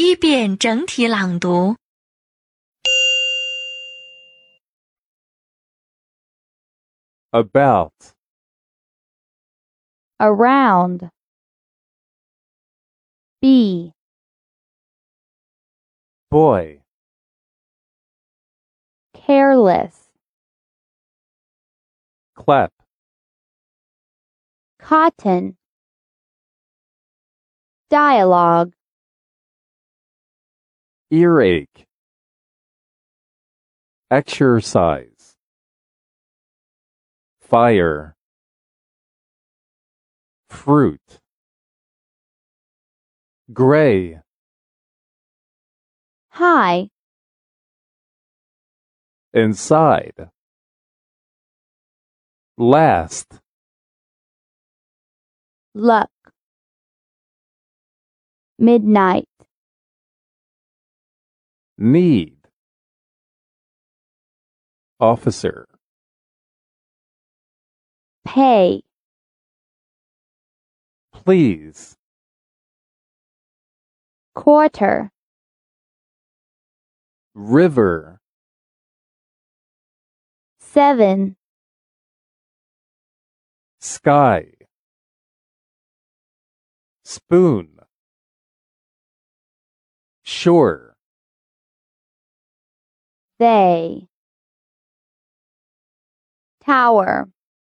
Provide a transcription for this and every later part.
第一遍整体朗读。 About, around, be, boy, careless, clap, cotton, dialogue, earache, exercise, fire, fruit, gray, high, inside, last, luck, midnight, need, officer, pay, please, quarter, river, 7, sky, spoon, shore, they, tower,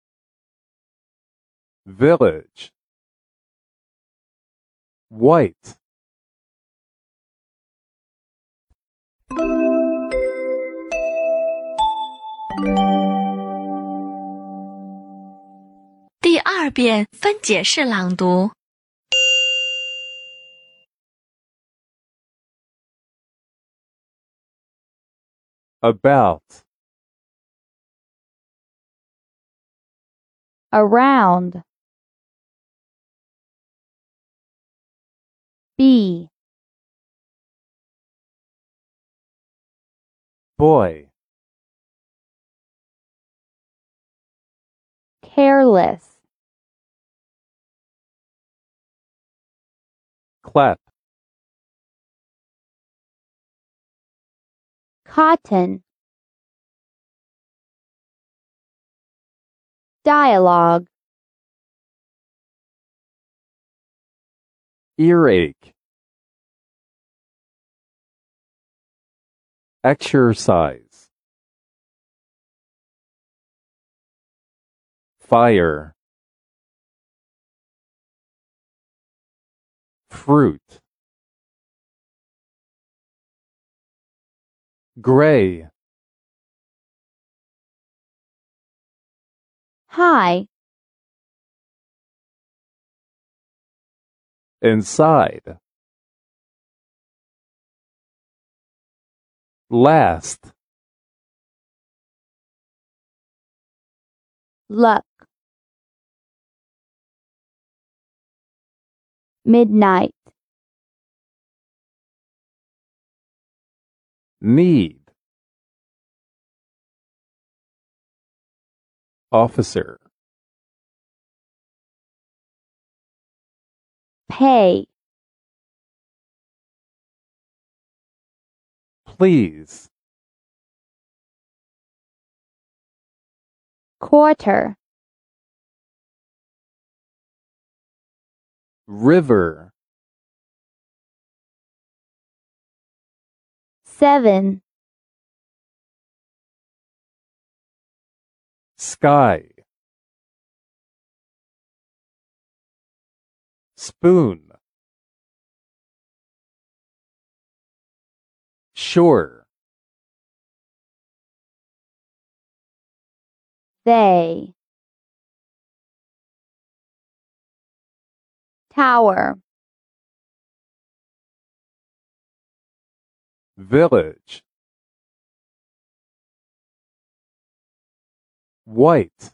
village, white, 第二遍分解式朗读。 about, around, be, boy, careless, clap, cotton, dialogue, earache, exercise, fire, fruit, gray, high, inside, last, luck, midnight, need, officer, pay, please, quarter, river, 7, sky, spoon, shore, they, tower, village, white,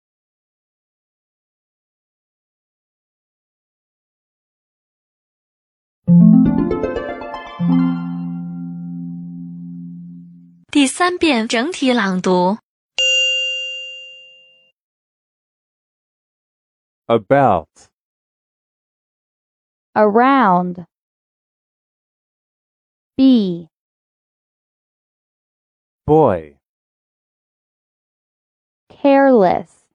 第三遍整体朗读。 about, around, B, boy, careless,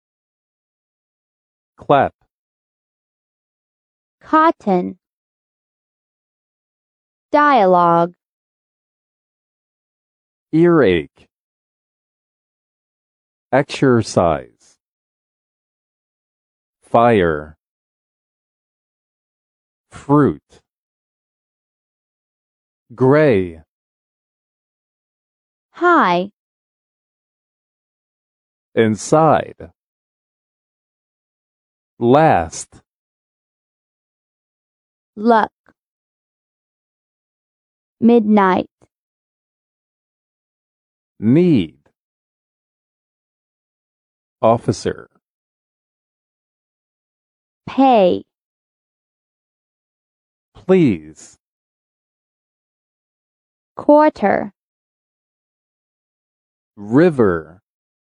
clap, cotton, dialogue, earache, exercise, fire, fruit, gray, high, inside, last, luck, midnight, need, officer, pay, please, quarter, river,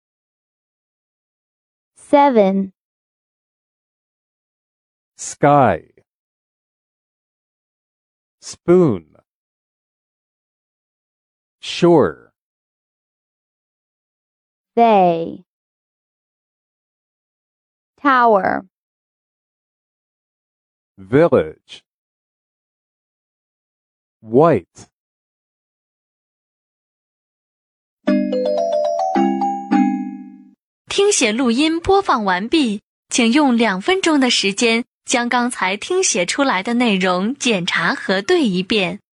7, sky, spoon, shore, they, tower, village, white. 听写录音播放完毕，请用2分钟的时间将刚才听写出来的内容检查核对一遍。